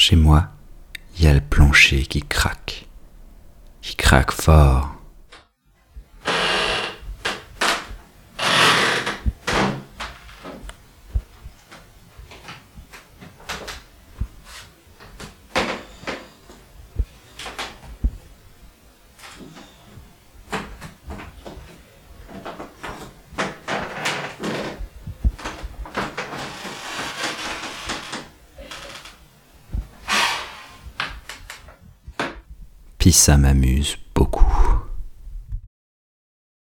Chez moi, il y a le plancher qui craque fort. Puis ça m'amuse